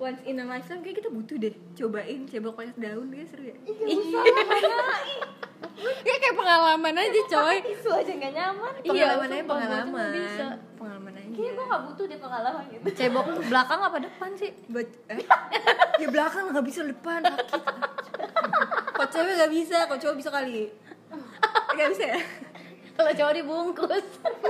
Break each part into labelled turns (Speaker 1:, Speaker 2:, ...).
Speaker 1: once in a lifetime kayak kita butuh deh cobain cebok pakai daun dia seru ya.
Speaker 2: Iya. Ya kayak pengalaman aja coy.
Speaker 3: Tisu aja nggak nyaman.
Speaker 1: Pengalaman
Speaker 2: Iya,
Speaker 1: aja pengalaman.
Speaker 2: bisa.
Speaker 1: Pengalaman aja.
Speaker 3: Kayaknya gue nggak butuh deh pengalaman gitu.
Speaker 2: Cebok belakang apa depan sih?
Speaker 1: Ya belakang nggak bisa depan sakit. Kok cewek nggak bisa, kok cowok bisa kali. Nggak bisa ya?
Speaker 2: Kalau cowok dibungkus.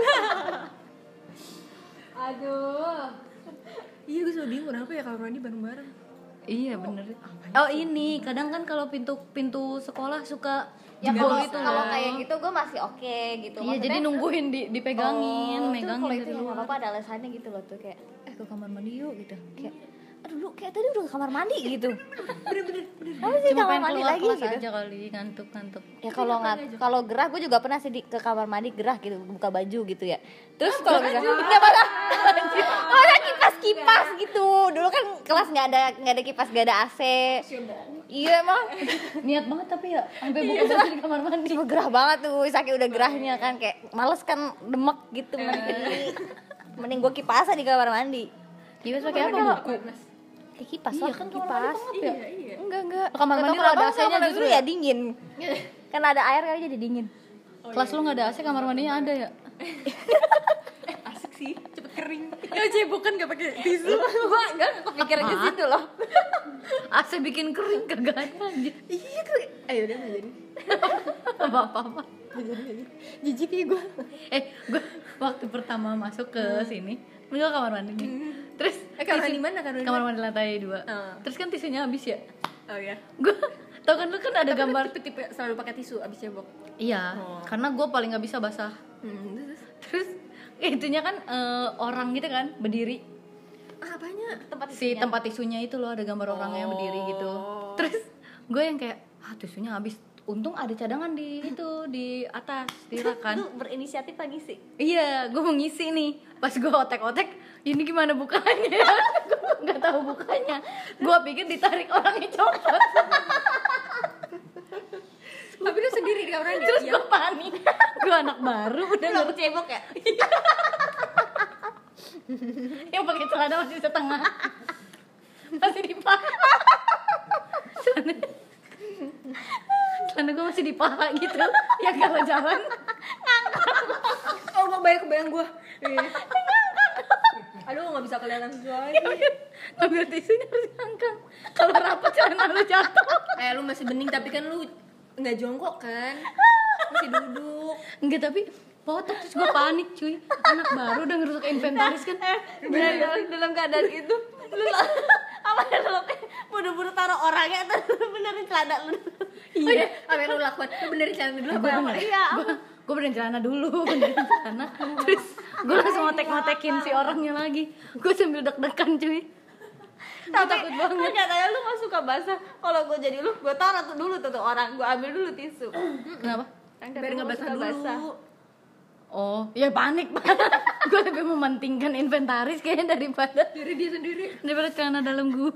Speaker 3: Aduh.
Speaker 1: Iya gue selalu bingung kenapa ya kamar mandi bareng-bareng.
Speaker 2: Iya bener. Oh ini kadang kan kalau pintu sekolah suka
Speaker 3: Ya
Speaker 2: jebol
Speaker 3: kalau
Speaker 2: gitu
Speaker 3: kalau
Speaker 2: lah.
Speaker 3: kayak gitu gue masih oke gitu.
Speaker 2: Iya jadi nungguin dipegangin,
Speaker 3: Oh,
Speaker 2: megangin
Speaker 3: kalau
Speaker 2: dari
Speaker 3: itu nggak
Speaker 2: luar.
Speaker 3: apa-apa ada alasannya gitu loh tuh kayak
Speaker 2: Ke kamar mandi yuk gitu.
Speaker 3: kayak aduh lu kayak tadi udah ke kamar mandi gitu.
Speaker 1: Bener-bener.
Speaker 3: Apa sih
Speaker 2: Cuma
Speaker 3: kamar
Speaker 2: pengen
Speaker 3: mandi
Speaker 2: keluar
Speaker 3: lagi
Speaker 2: kelas
Speaker 3: gitu?
Speaker 2: aja kali, ngantuk.
Speaker 3: Ya kalau gerah gue juga pernah sih ke kamar mandi gerah gitu buka baju gitu ya. Terus kalau gerah nggak malah kipas gitu. Dulu kan kelas nggak ada kipas nggak ada AC. Iya emang
Speaker 2: Niat banget tapi ya sampai buka baju di kamar mandi.
Speaker 3: cuma gerah banget tuh saking udah gerahnya kan kayak males kan demek gitu mending gue kipasan di kamar mandi.
Speaker 2: Kipas pakai apa buku?
Speaker 3: Kayak kipas
Speaker 2: Iya
Speaker 3: lah
Speaker 2: kan kamar mandi
Speaker 3: kipas.
Speaker 2: pengap ya.
Speaker 3: Enggak.
Speaker 2: Kamar
Speaker 3: Nggak
Speaker 2: mandi
Speaker 3: tahu
Speaker 2: lo ada
Speaker 3: kenapa
Speaker 2: AC-nya
Speaker 3: kamar
Speaker 2: justru
Speaker 3: dulu
Speaker 2: ya?
Speaker 3: ya dingin. Kan ada air kali jadi dingin.
Speaker 2: Kelas lu nggak ada AC, kamar mandinya ada ya?
Speaker 1: Asik sih, cepet kering.
Speaker 2: Ya cebok kan nggak pakai tisu.
Speaker 3: Gue enggak kepikiran ke situ loh.
Speaker 2: AC bikin kering kagak ada anjir.
Speaker 1: Iya kering. Ayo udah nggak jadi.
Speaker 2: Apa-apa.
Speaker 1: Jijik ya gue.
Speaker 2: Gue waktu pertama masuk ke sini, gue kamar mandi nih. Terus
Speaker 1: Kamar mandi mana?
Speaker 2: kamar mandi lantai 2.
Speaker 1: Oh.
Speaker 2: Terus kan tisunya habis ya.
Speaker 1: Oh ya.
Speaker 2: Gue tau kan lu kan ada gambar.
Speaker 1: Tipe selalu pakai tisu abis cebok.
Speaker 2: Iya, karena gue paling nggak bisa basah. Terus itunya kan orang gitu kan berdiri.
Speaker 1: Apanya?
Speaker 2: Tempat tisunya itu loh ada gambar orangnya yang berdiri gitu. Terus gue yang kayak tisunya habis. Untung ada cadangan di atas di rak kan.
Speaker 3: Lu berinisiatif lagi sih.
Speaker 2: Iya, gue mau ngisi nih. Pas gue otek-otek, ini gimana bukanya? Gue nggak tahu bukanya. Gue pikir ditarik orangnya copot.
Speaker 1: Tapi lu sendiri di kamar mandi.
Speaker 2: Terus gue panik. Gue anak baru udah
Speaker 3: Lu cebok ya?
Speaker 2: yang pakai celana masih setengah. Masih di paha. Celana gue masih di paha gitu. Ya kalau jalan
Speaker 1: Oh, gue kebayang gue. Aduh, nggak bisa kelihatan sesuatu.
Speaker 2: ngambil tisunya harus ngangkang. Kalau rapat celana lu jatuh.
Speaker 1: Lu masih bening tapi kan lu nggak jongkok kan? Masih duduk.
Speaker 2: Enggak tapi foto terus gue panik cuy. Anak baru udah ngerusak inventaris kan.
Speaker 3: dalam keadaan itu lu apa ya lu buru-buru taruh orangnya atau lu benerin celana lu?
Speaker 1: Iya. Apa yang lu lakukan? Lu benerin celana dulu apa?
Speaker 3: Iya.
Speaker 2: Gue benerin celana dulu, benerin celana. Terus gue langsung ngotek-ngotekin si orangnya lagi. Gue sambil deg-degan cuy. Gue takut banget.
Speaker 3: Katanya lu gak suka basah. Kalau gue jadi lu, gue taruh tuh dulu tuh orang, gue ambil dulu tisu.
Speaker 2: Kenapa?
Speaker 1: Biar nggak basah dulu.
Speaker 2: Oh, ya panik banget. Gue lebih mementingkan inventaris kayaknya daripada
Speaker 1: Dia sendiri.
Speaker 2: daripada celana dalam gue.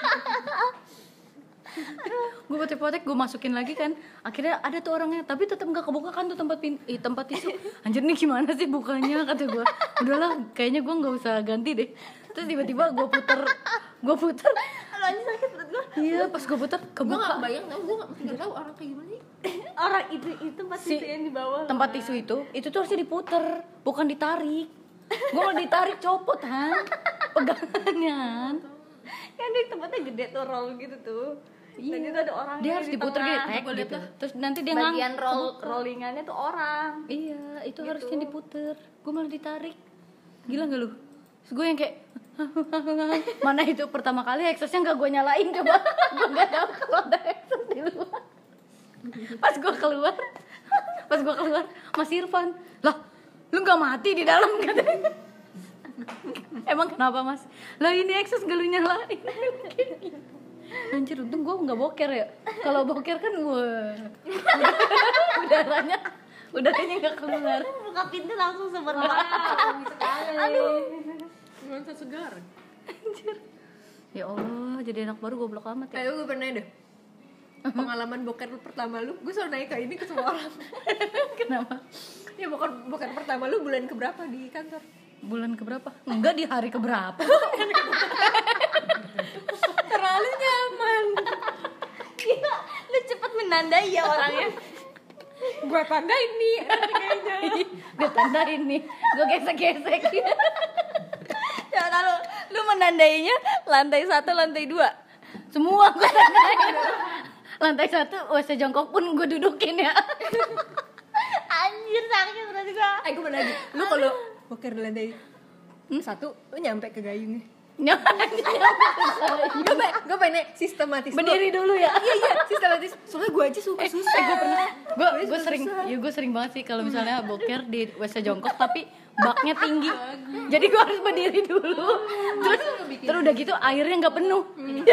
Speaker 2: Gue potek-potek gue masukin lagi kan. Akhirnya ada tuh orangnya, tapi tetap nggak kebuka kan tuh tempat tisu. Anjir nih gimana sih bukanya kata gue. Udahlah, kayaknya gue nggak usah ganti deh. Terus tiba-tiba gue puter.
Speaker 3: Aduh anjir sakit perut gue.
Speaker 2: Iya, pas gue puter
Speaker 1: Gue
Speaker 2: kebuka.
Speaker 1: nggak bayang tau, gue nggak tahu orang kayak gimana sih.
Speaker 3: Orang itu tempat tisu yang di bawah.
Speaker 2: Tempat tisu itu tuh harusnya diputer, bukan ditarik. Gue mau ditarik copot Han. Pegangan.
Speaker 3: Kan di tempatnya gede tuh roll gitu tuh. Dan itu ada orang
Speaker 2: Dia harus diputer gitu, tek
Speaker 1: Gua liat
Speaker 2: gitu.
Speaker 1: dah.
Speaker 2: Terus nanti dia
Speaker 3: bagian
Speaker 2: ngang-
Speaker 3: rollingannya tuh orang.
Speaker 2: Iya, itu harusnya diputer. Gue malah ditarik. Gila gak lu? Terus gue yang kayak mana itu pertama kali exhaustnya gak gue nyalain coba. Gue gak tahu kalau ada exhaust di luar. Pas gue keluar Mas Irfan, lah lu gak mati di dalam katanya. Emang kenapa Mas? Lah ini exhaust gak lu nyalain. Anjir untung gue gak boker ya. Kalau boker kan gue udaranya gak keluar.
Speaker 3: Buka pintu langsung sebentar.
Speaker 1: Aduh. Nuansa segar.
Speaker 2: Anjir. Ya Allah, jadi anak baru goblok amat ya.
Speaker 1: Gue pernah deh. Pengalaman boker pertama lu, gue selalu nanya ke ini ke semua orang.
Speaker 2: Kenapa?
Speaker 1: Ya boker pertama lu bulan keberapa di kantor?
Speaker 2: Bulan keberapa? Enggak, di hari keberapa.
Speaker 3: menandai ya orangnya.
Speaker 1: Gue tandain nih kayaknya.
Speaker 2: Gue tandain nih, gue gesek-gesek.
Speaker 3: Ya kalau lu menandainya lantai 1, lantai 2.
Speaker 2: Semua gue tandain. Lantai 1 WC jongkok pun gue dudukin ya.
Speaker 3: Anjir sakit berarti gua.
Speaker 1: Gue bener lagi. Lu kalau boker di lantai 1, lu nyampe ke gayungnya. Gue pengen sistematis.
Speaker 2: Berdiri dulu ya.
Speaker 1: Iya sistematis. Soalnya gue aja suka susah.
Speaker 2: Gue pernah, gue
Speaker 1: susah.
Speaker 2: sering, ya gue sering banget sih kalau misalnya boker di WC jongkok tapi baknya tinggi, jadi gue harus berdiri dulu. Terus udah gitu airnya nggak penuh.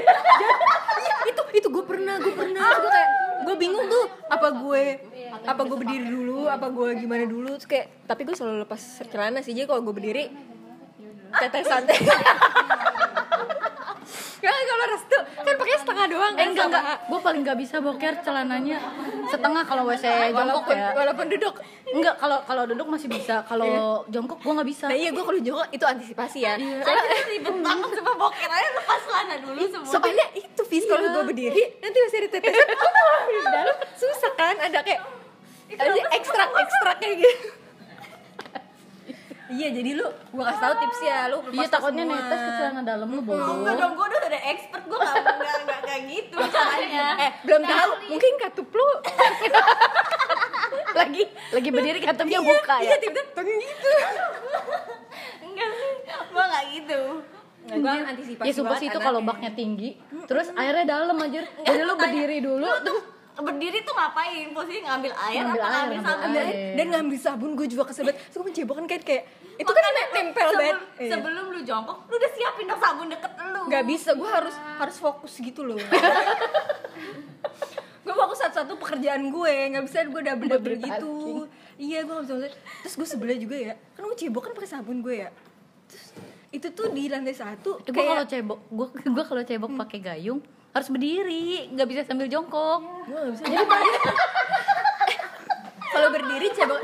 Speaker 1: Itu gue pernah. Gue kayak gue bingung tuh apa gue berdiri dulu, apa gue gimana dulu. Terus kayak tapi gue selalu lepas celana sih. Jadi kalau gue berdiri tetesan. Kan kalau restu kan pakai setengah doang kan.
Speaker 2: Enggak, gue paling nggak bisa boker celananya setengah kalau WC jongkok ya.
Speaker 1: Walaupun duduk.
Speaker 2: Enggak, kalau duduk masih bisa, kalau jongkok gue nggak bisa.
Speaker 1: Nah iya gue kalau jongkok itu antisipasi ya.
Speaker 3: Soalnya ribet banget sama boker aja lepas celana dulu semua.
Speaker 1: Soalnya itu Fis kalau gue berdiri nanti masih ada tetesan di dalam susah kan, ada kayak ekstrak kayak gitu. Iya jadi lu gue kasih tahu tips ya, lu
Speaker 2: Iya takutnya netes ke celana dalam lu bodoh.
Speaker 3: Enggak dong, gue udah ada expert, gue gak kayak gitu caranya.
Speaker 1: belum tahu mungkin katup lu
Speaker 2: lagi berdiri katupnya buka ya.
Speaker 1: iya tiba-tiba teng gitu.
Speaker 3: Enggak sih, gue gak gitu.
Speaker 1: Gue antisipasi
Speaker 2: Ya sumpah sih itu kalau baknya tinggi, terus airnya dalam anjir. Jadi lu berdiri dulu terus
Speaker 3: Berdiri tuh ngapain? Posisi ngambil air
Speaker 2: Ngambil
Speaker 3: apa
Speaker 2: air,
Speaker 3: ngambil
Speaker 2: ngambil
Speaker 3: sabun?
Speaker 2: air.
Speaker 1: Dan ngambil sabun gue juga kesebet. Terus gue mencebokan kayak itu kan nempel banget.
Speaker 3: Sebelum lu jongkok, lu udah siapin dong sabun deket lu.
Speaker 1: Gak bisa, gue harus fokus gitu loh. Gue fokus satu-satu pekerjaan gue, nggak bisa gue double gitu. Iya gue nggak bisa. Terus gue sebelah juga ya, kan gue cebok kan pakai sabun gue ya. Terus itu tuh di lantai 1
Speaker 2: gue kalau cebok, gue kalau cebok pakai gayung harus berdiri, nggak bisa sambil jongkok.
Speaker 1: gue nggak bisa. Jadi kalau berdiri cebok.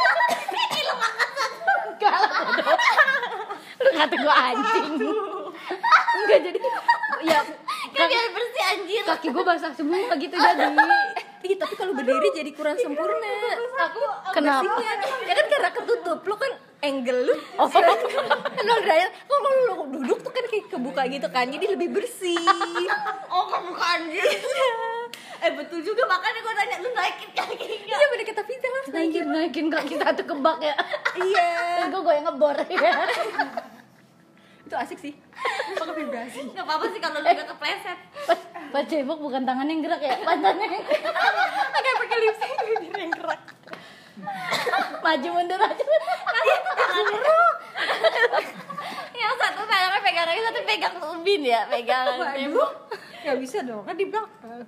Speaker 2: Lu kata gue anjing. Enggak jadi ya
Speaker 3: Kan biar bersih anjir.
Speaker 2: kaki gue basah semua gitu jadi.
Speaker 1: Iya tapi kalau berdiri jadi kurang sempurna. Aku
Speaker 2: Kenapa?
Speaker 1: bersihnya. Ya kan karena ketutup, lu kan angle lu. Lo dryer, kalau lu duduk tuh kan kayak kebuka gitu kan, jadi lebih bersih.
Speaker 3: Oh kamu anjir. Betul juga, makanya gue nanya lu naikin kakinya.
Speaker 1: Iya bener kata Vita harus
Speaker 2: Naikin kaki satu ke bak ya.
Speaker 1: Iya.
Speaker 2: Terus gue goyang ngebor ya.
Speaker 1: Itu asik sih. Pakai vibrasi.
Speaker 3: Gak apa-apa sih kalau lu gak kepleset.
Speaker 2: Pas cebok bukan tangannya yang gerak ya, pantatnya yang gerak.
Speaker 1: Pakai lipstick bibir yang kerak.
Speaker 2: Maju mundur aja.
Speaker 3: Nanti itu tangan gerak. Yang satu tangannya pegang lagi, satu pegang ubin ya, pegang tembok.
Speaker 1: Gak bisa dong, kan di belakang.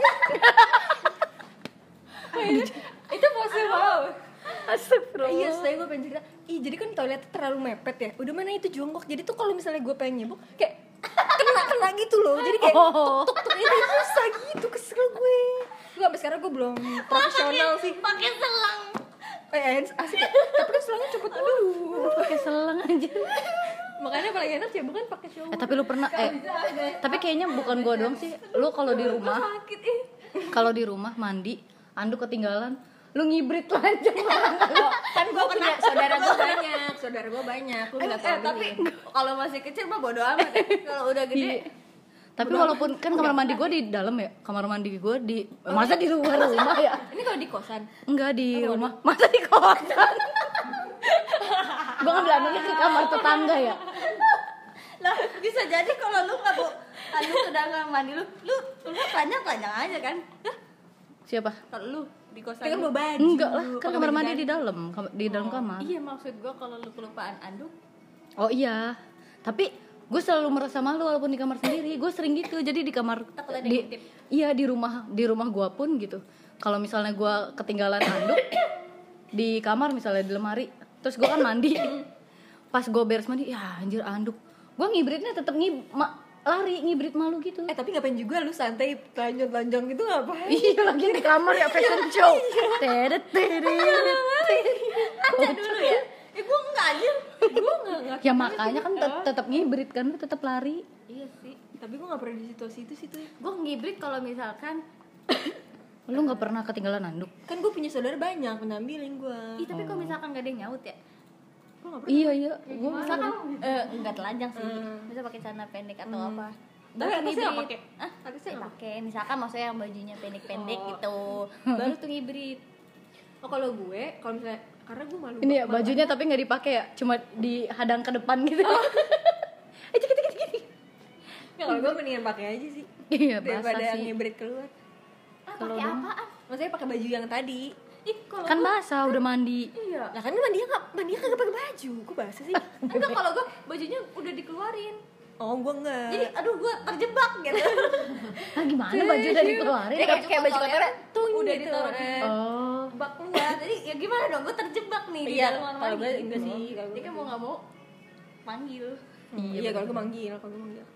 Speaker 1: Itu pose wow.
Speaker 2: Astagfirullah.
Speaker 1: Iya, saya gue pengen cerita. Jadi kan toiletnya terlalu mepet ya. Udah mana itu jongkok. Jadi tuh kalau misalnya gue pengen nyebok kayak kena gitu loh. Jadi kayak tuk itu susah gitu, kesel gue. Gue sampai sekarang gue belum profesional sih.
Speaker 3: Pakai selang.
Speaker 1: Asik. Tapi kan selangnya cepet dulu.
Speaker 2: Pakai selang aja.
Speaker 1: Makanya paling enak cebok kan pakai shower.
Speaker 2: Tapi lu pernah tapi kayaknya bukan gua doang sih. Lu kalau di rumah
Speaker 3: Sakit
Speaker 2: kalau di rumah mandi anduk ketinggalan, lu ngibrit lanjut.
Speaker 1: Kan gue punya saudara gue banyak. Lu nggak tahu
Speaker 3: tapi kalau masih kecil mah bodo amat ya. Kalau udah gede
Speaker 2: Tapi walaupun kan kamar mandi gua di dalam ya, kamar mandi gua di masa di luar rumah ya?
Speaker 1: Ini kalau di kosan.
Speaker 2: Enggak di rumah, masa di kosan. Gua ngambil anduknya ke kamar tetangga ya.
Speaker 3: lah bisa jadi kalau lu nggak bu lu udah nggak mandi lu telanjang aja kan.
Speaker 2: Siapa?
Speaker 3: Kalau lu di kosan
Speaker 1: Kan
Speaker 3: lu.
Speaker 1: bawa baju.
Speaker 2: Enggak lah, kan kamar mandi di dalam kamar.
Speaker 3: Iya maksud gua kalau lu kelupaan anduk.
Speaker 2: Oh iya, tapi gue selalu merasa malu walaupun di kamar sendiri. Gue sering gitu, jadi di kamar
Speaker 3: Takut ada yang ngintip.
Speaker 2: iya di rumah gue pun gitu. Kalau misalnya gue ketinggalan anduk di kamar misalnya di lemari, terus gue kan mandi. Pas gue beres mandi, ya anjir anduk. Gue ngibritnya tetap lari ngibrit malu gitu.
Speaker 1: Tapi ngapain juga lu santai telanjang gitu ngapain?
Speaker 2: Iya lagi di kamar ya fashion show. Teret.
Speaker 3: Ada dulu ya. Gua enggak anjir. Gua enggak.
Speaker 2: Ya makanya kan tetap ngibrit kan, tetap lari.
Speaker 3: Iya sih.
Speaker 1: Tapi gue gak pernah di situasi itu sih tuh.
Speaker 3: Gue ngibrit kalau misalkan
Speaker 2: Lu nggak pernah ketinggalan handuk?
Speaker 1: Kan gue punya saudara banyak, ambilin gue.
Speaker 3: Ih, tapi kalau misalkan gak ada yang nyaut ya.
Speaker 2: Iya, gue
Speaker 3: Misalkan enggak telanjang sih. Bisa pakai celana pendek atau apa.
Speaker 1: Tapi
Speaker 3: Baru
Speaker 1: atasnya nggak
Speaker 3: hibrid.
Speaker 1: pakai?
Speaker 3: Ah,
Speaker 1: Atasnya nggak
Speaker 3: pakai. Misalkan maksudnya yang bajunya pendek-pendek gitu. Baru tuh hibrid.
Speaker 1: Oh kalau gue, kalau misalnya karena gue malu.
Speaker 2: ini ya bajunya tapi nggak dipakai ya, cuma dihadang ke depan gitu.
Speaker 1: Ya kalau gue mendingan pakai aja sih.
Speaker 2: Iya, basah
Speaker 1: Daripada
Speaker 2: sih.
Speaker 1: ngibrit keluar.
Speaker 3: Pakai apaan?
Speaker 1: Maksudnya pakai baju yang tadi.
Speaker 3: Ih, kalau
Speaker 2: Kan basah udah mandi.
Speaker 3: iya.
Speaker 1: Lah kan mandinya kagak pakai baju. Kok bahasa sih?
Speaker 3: Enggak, kalau gue bajunya udah dikeluarin.
Speaker 1: Oh, gue enggak.
Speaker 3: Jadi aduh gue terjebak gitu.
Speaker 2: Ah, gimana baju udah dikeluarin?
Speaker 1: Jadi kayak baju kotornya tuh
Speaker 3: udah
Speaker 1: gitu.
Speaker 3: ditaruh di
Speaker 2: Oh,
Speaker 3: bak keluar. Jadi ya gimana dong, gue terjebak nih di
Speaker 1: Iya,
Speaker 3: dalam kamar
Speaker 1: kalau
Speaker 3: mandi.
Speaker 1: gue enggak sih. Kalau
Speaker 3: Jadi
Speaker 1: gue
Speaker 3: kan mau nggak mau manggil.
Speaker 1: Iya, kalau gue manggil, kalau gue manggil.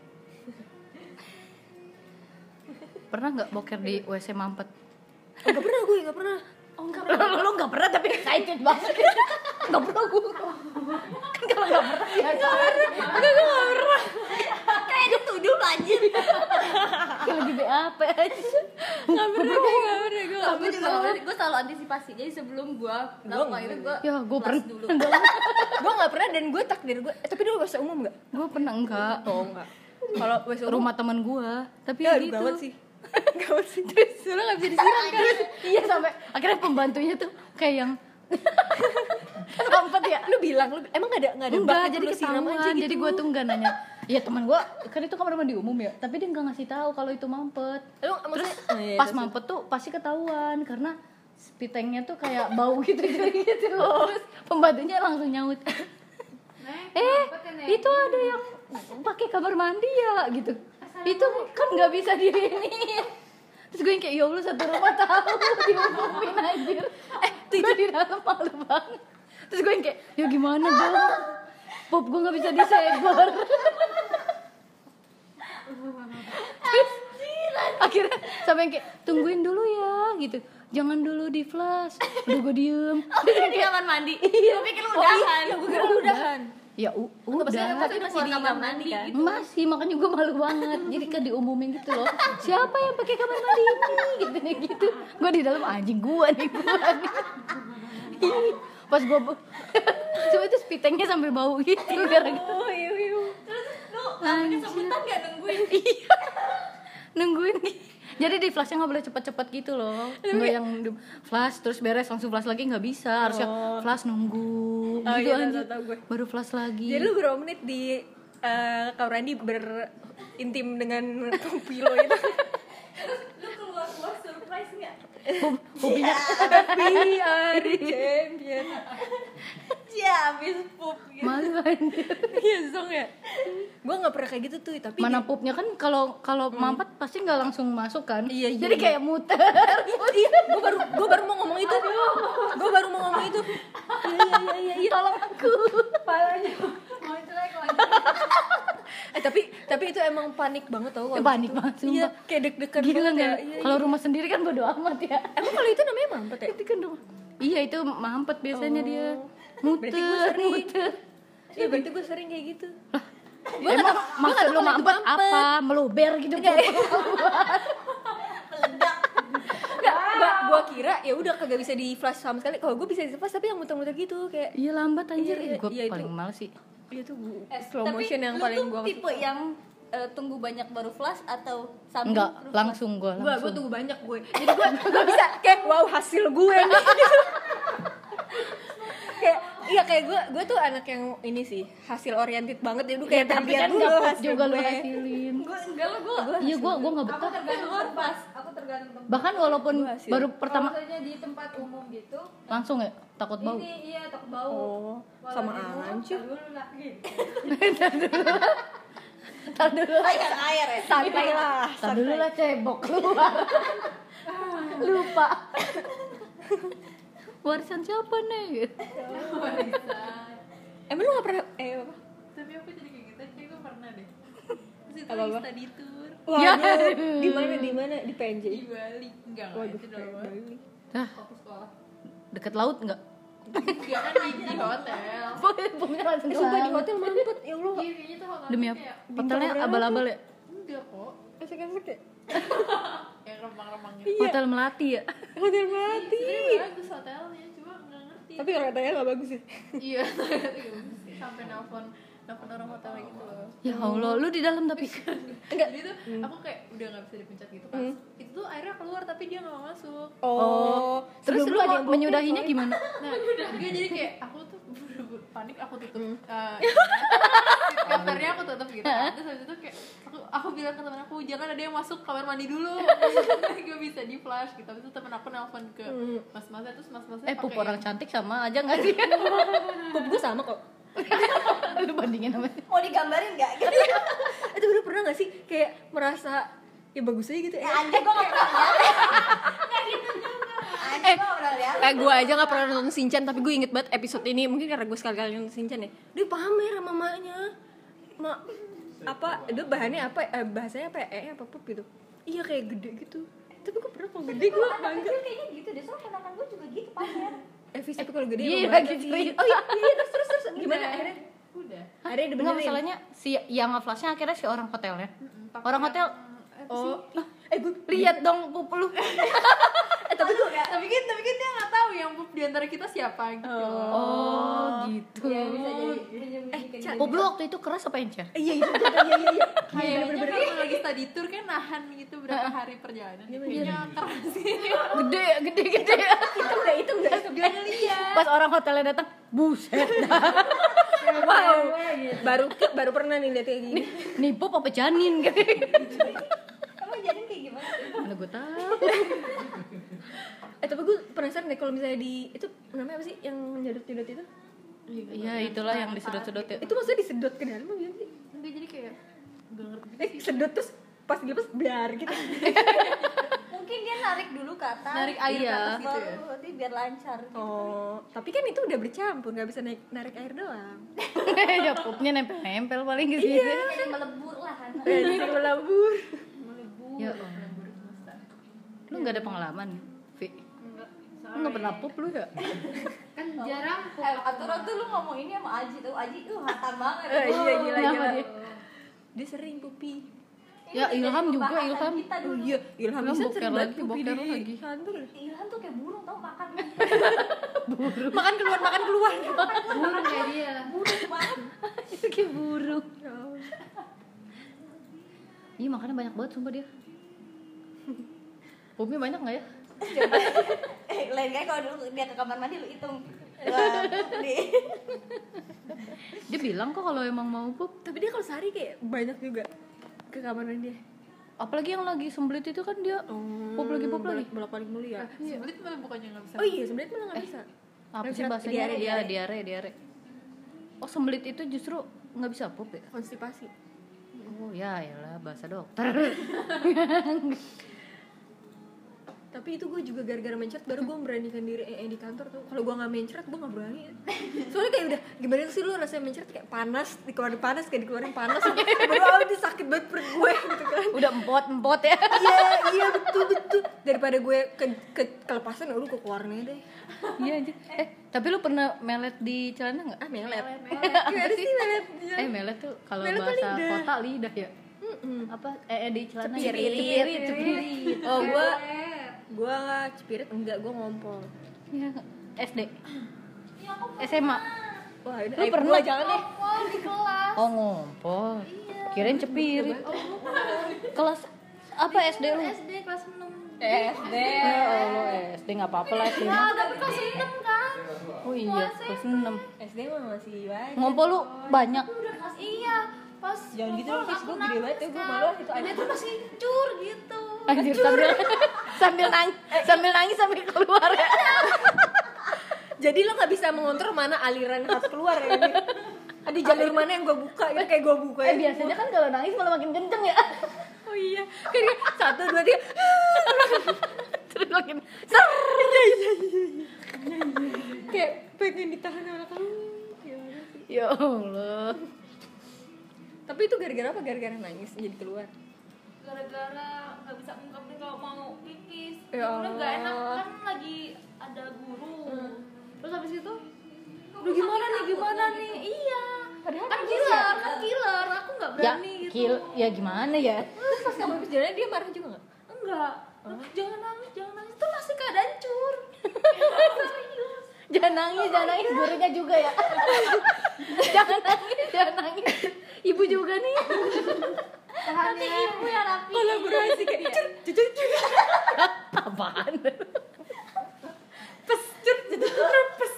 Speaker 2: pernah nggak boker di WC mampet?
Speaker 1: Enggak pernah gue, enggak pernah.
Speaker 3: Oh enggak.
Speaker 2: Lu nggak pernah tapi excited banget. Nggak pernah gue. Kan kalau nggak pernah ya kan.
Speaker 3: Kayak dituduh anjir.
Speaker 2: Kayak lagi BAP aja.
Speaker 1: Enggak pernah gue.
Speaker 3: Gue juga nggak berani. Gue selalu antisipasi. Jadi sebelum gue lakukan itu gue
Speaker 2: Ya, gue pernah.
Speaker 3: dulu.
Speaker 1: Gue enggak pernah dan gue takdir gue. Tapi dulu bahasa umum enggak?
Speaker 2: Gue pernah enggak.
Speaker 1: Oh, enggak. Kalau bahasa umum
Speaker 2: Rumah teman gue, tapi
Speaker 1: ya
Speaker 2: gitu.
Speaker 1: gawat sih. Gawat sih. Terus soalnya enggak bisa disiram kan.
Speaker 2: Iya, sampai akhirnya pembantunya tuh kayak yang mampet ya.
Speaker 1: Lu bilang lu emang enggak ada
Speaker 2: Enggak,
Speaker 1: bak
Speaker 2: jadi
Speaker 1: lu siram
Speaker 2: ketahuan.
Speaker 1: aja gitu.
Speaker 2: Jadi gue tuh enggak nanya. Iya, teman gue kan itu kamar mandi umum ya, tapi dia enggak ngasih tahu kalau itu mampet.
Speaker 1: Lu
Speaker 2: Terus
Speaker 1: maksudnya oh, iya,
Speaker 2: pas
Speaker 1: terus.
Speaker 2: mampet tuh pasti ketahuan karena spitengnya tuh kayak bau gitu gitu. Terus pembantunya langsung nyaut. Itu ada yang pakai kamar mandi ya gitu. Itu kan nggak bisa diinin. Terus gue yang kayak ya Allah, satu rumah tahu diumumin anjir. Gue di dalam malu banget. Terus gue yang kayak ya gimana dong, pop gue nggak bisa disegor. Terus akhirnya sampai yang kayak tungguin dulu ya gitu, jangan dulu di flash. Udah gue diem. Terus yang
Speaker 3: Di
Speaker 2: kayak
Speaker 3: kamar mandi. Gue pikir lu udahan.
Speaker 1: Iya, gue kira lu udahan.
Speaker 2: ya udah
Speaker 3: Tapi masih di kamar mandi gitu.
Speaker 2: masih, makanya gue malu banget. Jadi kan diumumin gitu loh, siapa yang pakai kamar mandi ini gitu. Gue di dalam anjing gue nih. Pas gue coba itu spitengnya sampai bau gitu gara-gara
Speaker 1: Oh, iya.
Speaker 3: Terus lu namanya sebutan gak nungguin?
Speaker 2: nungguin. Jadi di flashnya nggak boleh cepet-cepet gitu loh, nggak yang di flash terus beres langsung flash lagi nggak bisa, harusnya flash nunggu
Speaker 1: Oh,
Speaker 2: gitu
Speaker 1: iya,
Speaker 2: anjir,
Speaker 1: tahu gue.
Speaker 2: baru flash lagi.
Speaker 1: Jadi lu berapa menit di Kak Randy berintim dengan Pilo itu?
Speaker 3: Lu keluar surprise gak?
Speaker 2: Hobinya
Speaker 1: VR champion.
Speaker 3: Ya habis pup gitu.
Speaker 2: malu anjir.
Speaker 1: Iya, Zong ya. Gue nggak pernah kayak gitu tuh, tapi
Speaker 2: Mana pupnya kan kalau mampet pasti nggak langsung masuk kan.
Speaker 1: Iya, iya,
Speaker 2: Jadi
Speaker 1: iya.
Speaker 2: kayak muter.
Speaker 1: gue baru mau ngomong itu. Gue baru mau ngomong itu. Iya.
Speaker 2: Tolong aku.
Speaker 1: Palanya.
Speaker 3: Mau jelek lagi.
Speaker 1: Tapi itu emang panik banget tau kalau
Speaker 2: Panik
Speaker 1: gitu.
Speaker 2: banget,
Speaker 1: Iya,
Speaker 2: sumpah.
Speaker 1: kayak deg-degan
Speaker 2: Gila
Speaker 1: banget ya.
Speaker 2: nggak?
Speaker 1: Iya,
Speaker 2: Kalau rumah sendiri kan bodo amat ya.
Speaker 1: Emang kalau itu namanya mampet ya?
Speaker 2: Itu kan rumah. Iya, itu mampet biasanya dia. Muter,
Speaker 1: Berarti gue sering.
Speaker 2: muter.
Speaker 1: Iya, berarti gue sering kayak gitu.
Speaker 2: Emang maksud lu mampet apa? Meluber gitu.
Speaker 1: Enggak, gue kira ya udah kagak bisa di flash sama sekali. Kalau gue bisa di flash tapi yang muter-muter gitu kayak
Speaker 2: Iya, lambat anjir.
Speaker 1: Iya,
Speaker 2: Gue
Speaker 1: iya, itu.
Speaker 2: paling males sih.
Speaker 1: itu slow motion yang
Speaker 3: lu
Speaker 1: paling
Speaker 3: tuh
Speaker 1: gue
Speaker 3: tipe yang tunggu banyak baru flash atau sambung
Speaker 2: Enggak,
Speaker 3: terus
Speaker 2: langsung gue
Speaker 1: gue
Speaker 2: langsung.
Speaker 1: tunggu banyak gue. Jadi gue bisa kayak wow hasil gue nih. Kayak iya kayak gue tuh anak yang ini sih hasil oriented banget ya, udah kayak
Speaker 2: Tapi
Speaker 1: terlihat
Speaker 2: kan
Speaker 1: dulu
Speaker 2: nggak
Speaker 1: hasil
Speaker 2: juga lu
Speaker 1: gue.
Speaker 2: hasilin.
Speaker 3: gue enggak lah gue
Speaker 2: Iya, gue nggak betah.
Speaker 3: tergantung pas aku tergantung tempat.
Speaker 2: Bahkan walaupun
Speaker 1: Gua hasil.
Speaker 2: baru pertama
Speaker 3: Misalnya di tempat umum gitu
Speaker 2: langsung ya takut bau.
Speaker 3: ini iya takut bau.
Speaker 1: Oh, sama anjir.
Speaker 3: Dulu lah gitu.
Speaker 2: Tar dulu lah.
Speaker 3: Air air ya.
Speaker 1: Santai lah.
Speaker 2: Tar dulu lah cebok keluar. Lupa. Warisan siapa nih?
Speaker 1: Emang lu gak pernah apa?
Speaker 3: Tapi aku jadi kayak gitu aja gue pernah deh. Terus itu
Speaker 1: Apa-apa?
Speaker 3: lagi study tour
Speaker 1: Wah,
Speaker 2: Ya.
Speaker 1: di mana di PNJ?
Speaker 3: di Bali. Enggak
Speaker 1: Waduh,
Speaker 3: itu doang.
Speaker 1: Bali.
Speaker 2: Ah,
Speaker 3: Fokus sekolah.
Speaker 2: deket laut enggak?
Speaker 3: Enggak kan di hotel.
Speaker 2: Pokoknya langsung
Speaker 1: Sumpah di
Speaker 2: ke laut.
Speaker 1: hotel mampet, ya Allah.
Speaker 3: Iya kayaknya tuh hotel
Speaker 2: Demi apa? Hotelnya abal-abal ya?
Speaker 3: Enggak kok.
Speaker 1: Asik-asik ya.
Speaker 3: Ya
Speaker 4: yang remang-remang gitu.
Speaker 1: Iya.
Speaker 2: Hotel Melati ya.
Speaker 1: Hotel Melati.
Speaker 4: Sebenarnya bagus hotelnya, cuma nggak ngerti.
Speaker 1: Tapi kalau katanya nggak bagus ya.
Speaker 4: Iya, sampai nelpon orang hotelnya gitu loh.
Speaker 2: Ya Allah, lu di dalam tapi.
Speaker 1: Enggak.
Speaker 4: Jadi tuh aku kayak udah nggak bisa dipencet gitu kan. Itu tuh akhirnya keluar tapi dia nggak mau masuk.
Speaker 1: Oh.
Speaker 2: Terus
Speaker 1: Sebelum
Speaker 2: lu
Speaker 1: ada yang bokep,
Speaker 2: menyudahinya
Speaker 1: soalnya.
Speaker 2: gimana?
Speaker 4: Nah, dia jadi kayak aku tuh buru-buru panik, aku tutup kamarnya, aku tutup gitu. Terus habis itu kayak aku bilang ke teman aku, jangan ada yang masuk kamar mandi dulu. Gak bisa di flash gitu. Habis itu teman aku nelpon ke mas-masnya, terus mas-masnya
Speaker 2: Pup
Speaker 4: pakai
Speaker 2: orang cantik sama aja nggak sih?
Speaker 1: Pup gue sama kok.
Speaker 2: Lu bandingin sama.
Speaker 3: Mau digambarin nggak?
Speaker 1: Itu bener pernah gak sih kayak merasa ya bagus aja gitu ya?
Speaker 3: Anjir gue nggak pernah lihat. Anjir gue udah lihat.
Speaker 1: Gue aja gak pernah nonton Shinchan, tapi gue inget banget episode ini. Mungkin karena gue sekali-kali nonton Shinchan ya. Dia pamer sama mamanya. Itu bahannya apa? Bahasanya apa? Apa pup gitu. Iya kayak gede gitu. Tapi gue pernah kalau gede gue bangga.
Speaker 3: Kayaknya gitu deh, soalnya ponakan gue juga gitu pamer.
Speaker 1: Vis tapi kalau gede
Speaker 2: Iya
Speaker 1: emang
Speaker 2: lagi
Speaker 1: bangga sih.
Speaker 2: cerita.
Speaker 1: Oh iya terus gimana akhirnya?
Speaker 4: udah.
Speaker 1: Akhirnya
Speaker 2: Enggak,
Speaker 1: dibenerin.
Speaker 2: masalahnya si yang nge-flashnya akhirnya si orang hotelnya. Orang hotel
Speaker 1: Oh. Gue
Speaker 2: lihat dong pup lu.
Speaker 1: tapi gue
Speaker 4: Tapi kan dia nggak tahu yang pup di antara kita siapa gitu.
Speaker 2: Oh, gitu.
Speaker 3: Ya bisa jadi.
Speaker 2: Pup lu waktu itu keras apa encer?
Speaker 1: iya iya.
Speaker 4: Kayaknya kalau lagi study tour kan nahan gitu berapa hari perjalanan. Kayaknya keras sih.
Speaker 2: Gede.
Speaker 1: Itu enggak.
Speaker 4: Gak ngeliat.
Speaker 2: Pas orang hotelnya datang, buset.
Speaker 1: Wow. Baru pernah nih lihat kayak gini.
Speaker 2: Nih pup apa janin gitu.
Speaker 3: Emang jadi kayak gimana?
Speaker 2: Mana gue tahu.
Speaker 1: Tapi gue penasaran deh kalau misalnya di itu namanya apa sih yang nyedot-nyedot itu?
Speaker 2: Iya, itulah yang disedot-sedot ya.
Speaker 1: Itu maksudnya disedot ke dalam apa sih?
Speaker 4: Enggak, jadi kayak gak ngerti.
Speaker 1: Sedot terus pas dilepas biar gitu.
Speaker 3: Mungkin dia narik dulu ke atas.
Speaker 4: Narik air ke atas gitu ya.
Speaker 3: Baru nanti biar lancar.
Speaker 1: Oh, tapi kan itu udah bercampur, nggak bisa narik air doang.
Speaker 2: Ya pupnya nempel-nempel paling ke sini.
Speaker 3: Jadi melebur lah kan.
Speaker 1: Jadi melabur.
Speaker 2: Ya Allah. Lu enggak ada pengalaman, Vi? Lu enggak pernah pup lu ya?
Speaker 4: Kan jarang
Speaker 3: Aturan tuh lu ngomong ini sama Aji tuh. Aji tuh hatam banget.
Speaker 1: Iya gila.
Speaker 2: Kenapa dia?
Speaker 1: Dia sering pupi.
Speaker 2: Ya Ilham juga, Ilham.
Speaker 1: Oh iya, Ilham bisa
Speaker 2: boker
Speaker 1: sering banget
Speaker 2: lagi,
Speaker 1: pupi
Speaker 2: boker
Speaker 1: di
Speaker 2: lagi.
Speaker 1: kantor.
Speaker 3: Ilham tuh kayak burung tau makan.
Speaker 1: Makan keluar.
Speaker 4: burung kayak dia.
Speaker 3: Burung banget.
Speaker 2: Itu kayak burung. Iya, makannya banyak banget sumpah dia. Pupnya banyak enggak ya?
Speaker 3: Lain kayak kalau dulu dia ke kamar mandi lu hitung.
Speaker 2: Dia bilang kok kalau emang mau pup.
Speaker 1: Tapi dia kalau sehari kayak banyak juga ke kamar mandi dia.
Speaker 2: Apalagi yang lagi sembelit itu kan dia pup lagi.
Speaker 1: Bolak-balik mulu ya.
Speaker 4: Sembelit malah bukannya nggak bisa.
Speaker 1: Oh iya, sebenarnya malah nggak bisa.
Speaker 2: Apa
Speaker 1: Nggak
Speaker 2: sih
Speaker 1: bisa.
Speaker 2: bahasanya?
Speaker 1: Diare.
Speaker 2: Diare. Oh, sembelit itu justru nggak bisa pup ya?
Speaker 1: Konstipasi.
Speaker 2: Oh ya, yalah bahasa dokter.
Speaker 1: Tapi itu gue juga gara-gara mencret baru gue memberanikan diri di kantor tuh. Kalau gue nggak mencret gue nggak berani. Soalnya kayak udah gimana sih lu rasanya mencret kayak panas, dikeluarin panas. Baru itu sakit banget perut gue gitu kan.
Speaker 2: Udah empot ya.
Speaker 1: Iya betul. Daripada gue kelepasan lu ke keluarnya deh.
Speaker 2: Iya anjir. Tapi lu pernah melet di celana enggak?
Speaker 1: Melet. Gimana sih melet?
Speaker 2: Melet tuh kalau
Speaker 1: Melet tuh
Speaker 2: bahasa
Speaker 1: lidah.
Speaker 2: kota lidah ya. Apa di celana
Speaker 1: Cepirit.
Speaker 2: cepirit.
Speaker 1: Oh gue cepirit enggak, gue ngompol.
Speaker 2: Ya, SD. SMA.
Speaker 1: Wah,
Speaker 2: Lu pernah?
Speaker 1: jangan deh.
Speaker 3: Oh di kelas.
Speaker 2: Oh, ngompol. Kirain cepirit. Kelas apa SD lu?
Speaker 3: SD kelas 6.
Speaker 1: SD.
Speaker 2: Ya Allah, SD enggak apa-apa lah SD.
Speaker 3: Ah, tapi kelas 6 kan.
Speaker 2: Oh iya, kelas 6.
Speaker 1: SD mah masih banyak.
Speaker 2: Ngompol lu banyak.
Speaker 3: Iya, pas
Speaker 1: Jangan gitu dong,
Speaker 3: aku
Speaker 1: gue gede banget ya, gue malu itu
Speaker 3: Dia tuh masih cur gitu.
Speaker 2: Anjir, sambil nangis sambil keluar ya.
Speaker 1: Jadi lo nggak bisa mengontrol mana aliran yang harus keluar ya ini. Ada jalur mana yang gue buka gitu, kayak gue buka ya.
Speaker 2: Biasanya kan kalau nangis malah makin kenceng ya.
Speaker 1: Oh iya, kan 1, 2, 3.
Speaker 2: Terus makin
Speaker 1: Kayak pengen ditahan sama kamu. Gimana sih?
Speaker 2: ya Allah.
Speaker 1: Tapi itu gara-gara apa? Gara-gara nangis jadi keluar.
Speaker 3: Gara-gara nggak bisa ungkapin kalau mau pipis.
Speaker 1: Ya
Speaker 3: Udah nggak enak
Speaker 1: Allah.
Speaker 3: kan lagi ada guru. Terus habis itu
Speaker 1: Lu gimana nih?
Speaker 3: Iya.
Speaker 1: Padahal
Speaker 3: Kan
Speaker 1: nangis
Speaker 3: killer. Aku nggak
Speaker 2: Ya,
Speaker 3: berani gitu.
Speaker 2: ya gimana ya?
Speaker 1: Terus pas kamu habis jalan dia marah juga nggak?
Speaker 3: Enggak.
Speaker 4: Jangan nangis itu masih keadaan cur.
Speaker 2: Jangan nangis gurunya juga ya. jangan nangis. Ibu juga nih.
Speaker 3: Nanti ibu yang rapi.
Speaker 1: Kolaborasi kayak jujur
Speaker 2: Apaan?
Speaker 1: pes jujur pes.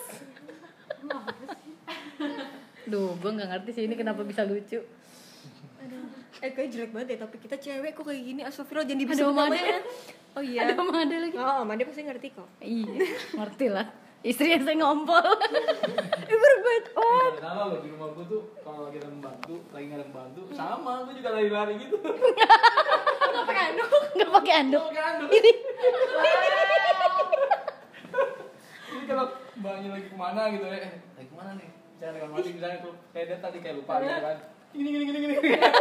Speaker 2: Duh, gue nggak ngerti sih ini kenapa bisa lucu.
Speaker 1: Kayak jelek banget ya, tapi kita cewek kok kayak gini. Astagfirullah, jangan
Speaker 2: Ada
Speaker 1: dibisik
Speaker 2: Made.
Speaker 1: namanya. Oh iya.
Speaker 2: Ada Made lagi.
Speaker 1: Oh, Made pasti ngerti kok.
Speaker 2: Iya, ngerti lah. Istri yang saya ngompol.
Speaker 1: Berbuat om.
Speaker 5: Sama lo di rumah gue tuh kalau lagi ada membantu, sama gue juga lari-lari gitu.
Speaker 2: Nggak pakai anduk.
Speaker 5: Pakai anduk.
Speaker 2: Ini.
Speaker 5: Jadi kalau mbaknya lagi kemana gitu ya, lagi kemana nih? Misalnya lagi mandi misalnya tuh kayak dia tadi kayak lupa gitu kan. Gini.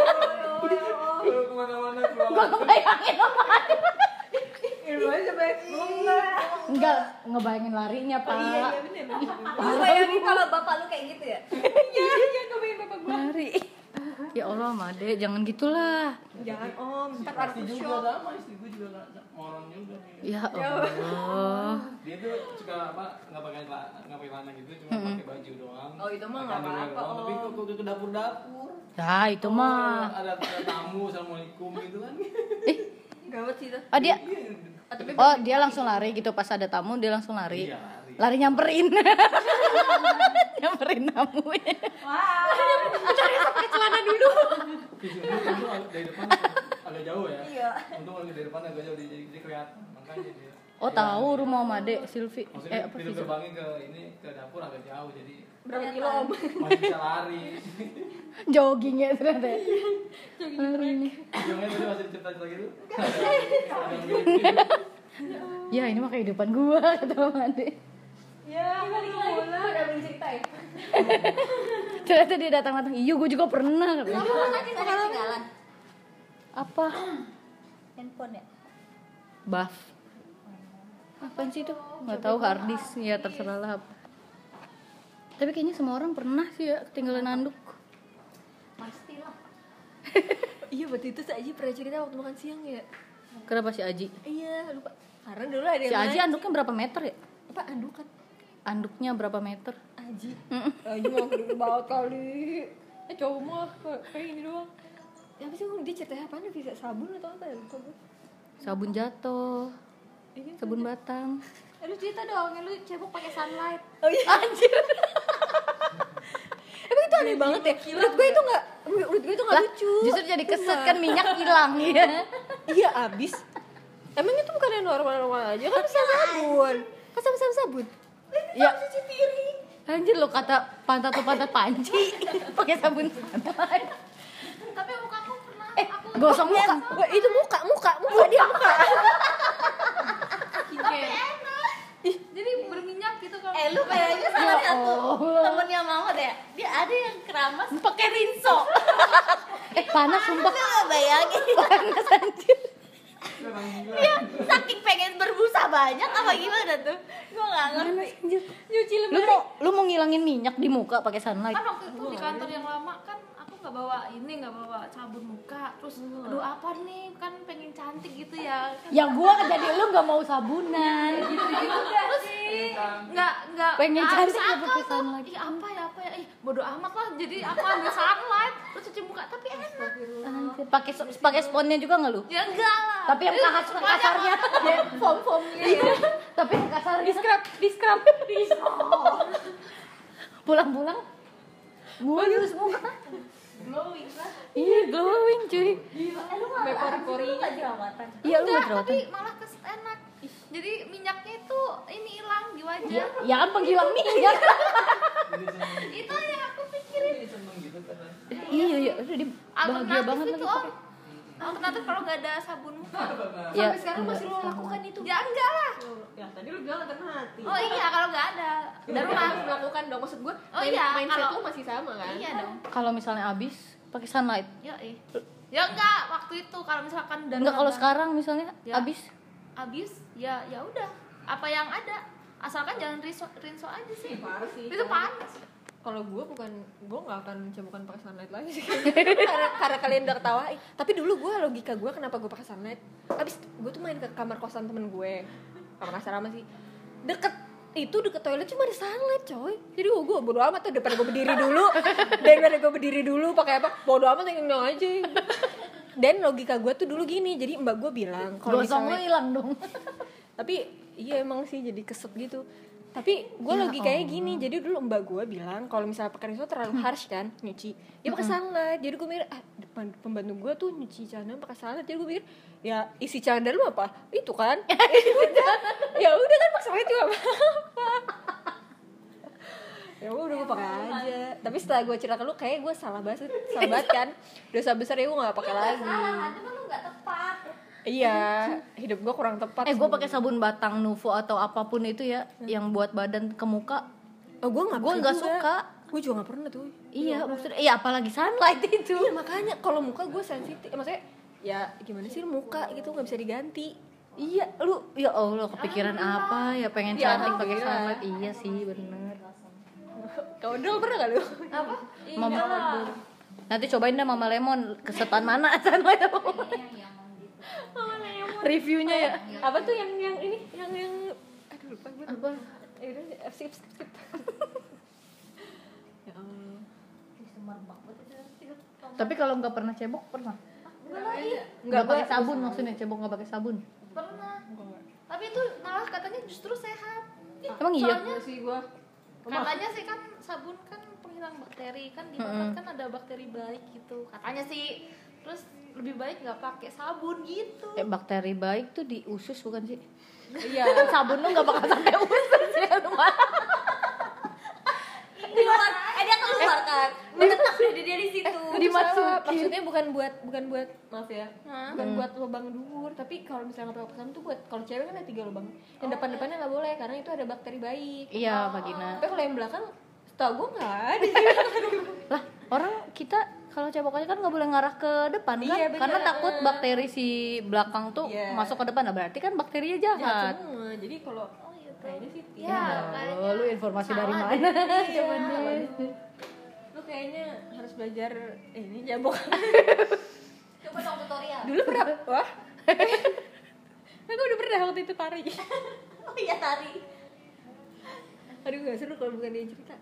Speaker 5: Kalau kemana-mana
Speaker 2: Gue
Speaker 5: keluar.
Speaker 2: ngebayangin apaan.
Speaker 1: Irwan sampai
Speaker 2: Enggak, ngebayangin larinya, Pak.
Speaker 1: iya bener.
Speaker 3: Lu bayangin kalau bapak lu kayak gitu ya?
Speaker 1: Iya kebayang bapak gue.
Speaker 2: Lari. Ya Allah, Made, jangan gitulah.
Speaker 1: Jangan om, ntar
Speaker 5: Pasti
Speaker 1: artis
Speaker 5: juga
Speaker 1: shock.
Speaker 5: sama istri gue juga moron juga nih.
Speaker 2: Ya Allah.
Speaker 5: Dia tuh suka nggak pakai celana gitu, cuma pakai baju doang.
Speaker 1: Oh, itu mah
Speaker 5: Pakai
Speaker 1: nggak
Speaker 5: underwear
Speaker 1: apa-apa,
Speaker 5: doang. Tapi
Speaker 1: Om.
Speaker 5: kok ke dapur-dapur.
Speaker 2: Ya, itu mah.
Speaker 5: Ada tamu, assalamualaikum gitu kan.
Speaker 1: Gawat sih itu.
Speaker 2: Oh, dia
Speaker 1: Tapi
Speaker 2: Oh, dia langsung lari gitu pas ada tamu, dia langsung lari.
Speaker 5: Iya, lari.
Speaker 2: Lari nyamperin. Nyamperin tamunya.
Speaker 1: pakai celana dulu.
Speaker 5: Itu dari depan agak jauh ya.
Speaker 3: Iya.
Speaker 5: Untung lagi dari depan agak jauh jadi kelihatan. Makanya dia.
Speaker 2: Oh, tahu rumah Made, Silvi.
Speaker 5: Maksudnya
Speaker 2: Apa
Speaker 5: pintu
Speaker 2: sih?
Speaker 5: gerbangnya ke dapur agak jauh jadi
Speaker 1: Berapa kilo om?
Speaker 5: masih bisa lari.
Speaker 2: Jogging ya ternyata. Lari nih.
Speaker 5: Ujungnya tadi masih cerita-cerita gitu. Ada yang mirip-mirip.
Speaker 2: Ya, ini mah kehidupan gua kata Made.
Speaker 1: Ya, balik lagi. Udah cerita ya.
Speaker 2: Ternyata dia datang-datang. Iya, gua juga pernah.
Speaker 3: Kamu kan lagi gak ada ketinggalan
Speaker 2: Apa?
Speaker 3: handphone ya?
Speaker 2: Buff. Apaan sih itu? Nggak tahu, hard disk. Ya terserah lah apa. Tapi kayaknya semua orang pernah sih ya ketinggalan anduk.
Speaker 3: Pastilah.
Speaker 1: Iya, waktu itu si Aji pernah cerita waktu makan siang ya.
Speaker 2: Kenapa si Aji?
Speaker 1: Iya, lupa. Karena dulu ada yang
Speaker 2: Si Aji
Speaker 1: lain.
Speaker 2: anduknya berapa meter ya?
Speaker 1: Apa andukan?
Speaker 2: Anduknya berapa meter?
Speaker 1: Aji. Aji mah gede banget kali. Cowok mah kayak ini doang. Ya apa sih dia ceritanya apaan? Bisa sabun atau apa ya? Lupa gue.
Speaker 2: Sabun jatuh,
Speaker 1: Iya,
Speaker 2: sabun batang.
Speaker 3: Lu cerita dong, lu cebok pakai sunlight.
Speaker 1: Oh iya. Anjir. Emang itu aneh banget ya. Menurut gue itu nggak
Speaker 2: Lah,
Speaker 1: lucu.
Speaker 2: justru jadi keset kan minyak hilang ya.
Speaker 1: Iya abis. Emang itu bukan yang normal-normal aja kan bisa sabun. Kan sama-sama sabun.
Speaker 2: Ya. Anjir lo kata pantat tuh pantat panci pakai sabun sunlight.
Speaker 3: Tapi muka aku pernah
Speaker 2: Gosong muka.
Speaker 1: Wah, itu muka dia muka.
Speaker 3: jadi berminyak gitu kalau lu kayaknya salah satu temennya Mama deh. Dia ada yang keramas pakai rinso.
Speaker 2: Panas sumpah.
Speaker 3: Lu gak bayangin.
Speaker 2: Panas anjir.
Speaker 3: Dia saking pengen berbusa banyak apa gimana tuh? Gua gak ngerti.
Speaker 2: Panas anjir.
Speaker 1: Nyuci
Speaker 2: Lu mau ngilangin minyak di muka pakai sunlight?
Speaker 4: Kan waktu itu di kantor yang lama kan aku nggak bawa sabun muka, terus aduh apa nih, kan pengen cantik gitu ya kan.
Speaker 2: Ya gua jadi lu nggak mau sabunan.
Speaker 4: Terus nggak
Speaker 2: Pengen
Speaker 4: habis
Speaker 2: cantik ya
Speaker 4: akal
Speaker 2: pakai
Speaker 4: tuh.
Speaker 2: sunlight.
Speaker 4: Ih apa ya bodo amat lah, jadi aku ambil sunlight terus cuci muka, tapi enak.
Speaker 2: Anjir, pakai sponnya juga nggak lu?
Speaker 4: Ya enggak lah,
Speaker 2: Tapi yang kasarnya
Speaker 1: foam gitu ya.
Speaker 2: tapi yang kasarnya
Speaker 1: Di scrub.
Speaker 2: pulang-pulang mulus muka.
Speaker 3: Glowing lah.
Speaker 2: Iya, glowing cuy.
Speaker 3: Lu pori-pori gak jerawatan?
Speaker 2: Iya, lu
Speaker 4: enggak,
Speaker 2: nggak
Speaker 4: tapi
Speaker 2: jerawatan.
Speaker 4: malah enak. Jadi minyaknya itu ini hilang di wajah.
Speaker 2: Ya kan penghilang minyak.
Speaker 4: Itu yang aku pikirin.
Speaker 5: Jadi seneng gitu kan.
Speaker 2: Iya, udah dia bahagia banget
Speaker 4: Alternatif
Speaker 2: lagi
Speaker 4: itu om.
Speaker 2: pakai.
Speaker 4: Alternatif kalau nggak ada sabun muka.
Speaker 2: Ya,
Speaker 1: Sampai sekarang masih lo lakukan itu.
Speaker 4: Ya enggak lah.
Speaker 1: Ya tadi lu galau karena hati.
Speaker 4: Oh iya kalau nggak ada.
Speaker 1: Dan lu harus melakukan dong, maksud gue.
Speaker 4: Oh iya,
Speaker 1: mindset
Speaker 4: kalau-
Speaker 1: lu masih sama kan?
Speaker 4: Iya dong.
Speaker 2: kalau misalnya habis pakai sunlight.
Speaker 4: Ya ya enggak waktu itu kalau misalkan udah
Speaker 2: Enggak kalau
Speaker 4: nambah-
Speaker 2: sekarang misalnya
Speaker 4: Ya.
Speaker 2: habis.
Speaker 4: habis ya udah apa yang ada, asalkan jangan rinso aja sih.
Speaker 1: Parah sih.
Speaker 4: Itu panas.
Speaker 1: Kalau gue nggak akan cebokan pakai sunlight lagi sih. karena kalian udah ketawain. Tapi dulu gue logika gue kenapa gue pakai sunlight. Abis gue tuh main ke kamar kosan temen gue, kamar asrama sih. Deket toilet cuma ada sunlight coy. Jadi gue bodo amat tuh, daripada gue berdiri dulu pakai apa, bodo amat tinggal aja. Dan logika gue tuh dulu gini, jadi mbak gue bilang kalau
Speaker 2: gosong lo
Speaker 1: misalnya
Speaker 2: hilang dong.
Speaker 1: tapi iya emang sih jadi keset gitu. Tapi gue logikanya gini, jadi dulu mbak gue bilang kalau misalnya pakai rinso terlalu harsh kan nyuci, dia pakai sunlight. Jadi gue mikir pembantu gue tuh nyuci celana pakai sunlight. Jadi gue mikir ya isi celana lu apa itu kan. Ya udah kan pakai sunlight juga apa. Ya udah gue pakai aja. Tapi setelah gue cerita ke lu kayak gue salah banget kan. Dosa besar ya gue nggak pakai lagi.
Speaker 3: Cuma lu nggak tepat.
Speaker 1: Iya, hidup gue kurang tepat.
Speaker 2: Gue pakai sabun batang Nuvo atau apapun itu ya, yang buat badan ke muka.
Speaker 1: Oh, gue nggak
Speaker 2: suka.
Speaker 1: Gue juga nggak pernah tuh.
Speaker 2: Iya, maksudnya apalagi sunlight itu.
Speaker 1: Iya, makanya kalau muka gue sensitif. Maksudnya ya gimana sih muka gitu nggak bisa diganti.
Speaker 2: Iya, lu ya Allah kepikiran apa ya pengen
Speaker 1: Ya,
Speaker 2: cantik pakai
Speaker 1: alhamdulillah.
Speaker 2: sunlight. Iya sih, bener.
Speaker 1: Kau dulu pernah gak lu?
Speaker 3: Apa?
Speaker 2: Mama nanti cobain deh Mama Lemon, kesetan mana sunlight apa? Reviewnya ya.
Speaker 1: Apa tuh yang ini yang aduh lupa gue.
Speaker 2: Apa?
Speaker 1: Ya udah skip. Ya Allah.
Speaker 2: Tapi kalau nggak pernah cebok pernah?
Speaker 1: Nggak
Speaker 2: pakai sabun maksudnya, cebok nggak pakai sabun.
Speaker 3: Pernah. Tapi itu malah katanya justru sehat.
Speaker 2: Emang iya?
Speaker 3: Soalnya
Speaker 1: sih gue.
Speaker 3: katanya sih kan sabun kan penghilang bakteri, kan di mata kan ada bakteri baik gitu katanya sih. Terus lebih baik nggak pakai sabun gitu.
Speaker 2: Bakteri baik tuh di usus bukan sih?
Speaker 1: Iya.
Speaker 2: Sabun lu nggak bakal sampai usus ya rumah.
Speaker 3: Keluar, dia keluar kan, menetap dia di situ.
Speaker 2: Dimasukin.
Speaker 1: Maksudnya bukan buat maaf ya, bukan buat lubang dubur, tapi kalau misalnya nggak pakai sabun tuh buat, kalau cewek kan ada 3 lubang, yang depannya nggak boleh karena itu ada bakteri baik.
Speaker 2: Iya, vagina.
Speaker 1: Tapi kalau yang belakang, setahu gue nggak ada.
Speaker 2: Lah, orang kita kalau cebokannya kan nggak boleh ngarah ke depan kan?
Speaker 1: Iya, bener.
Speaker 2: Karena takut bakteri si belakang tuh
Speaker 1: Iya.
Speaker 2: masuk ke depan. Nah, berarti kan bakterinya
Speaker 1: Jahat
Speaker 2: jahat.
Speaker 1: semua. Jadi kalau kayaknya sih
Speaker 3: Ya, kayaknya
Speaker 2: Oh, lu informasi dari
Speaker 3: salah
Speaker 2: mana?
Speaker 1: Iya, lu kayaknya harus belajar ini jabok.
Speaker 3: Coba dong tutorial.
Speaker 1: Dulu pernah, wah. Aku udah pernah waktu itu tari.
Speaker 3: Oh iya tari.
Speaker 1: Aduh gak seru kalau bukan dia cerita.